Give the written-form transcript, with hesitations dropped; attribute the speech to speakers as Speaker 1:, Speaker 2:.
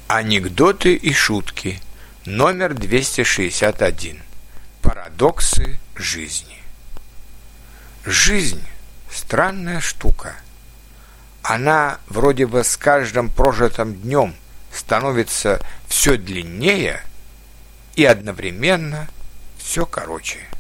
Speaker 1: Анекдоты и шутки. Номер 261. Парадоксы жизни. Жизнь – странная штука. Она вроде бы с каждым прожитым днем становится все длиннее и одновременно все короче.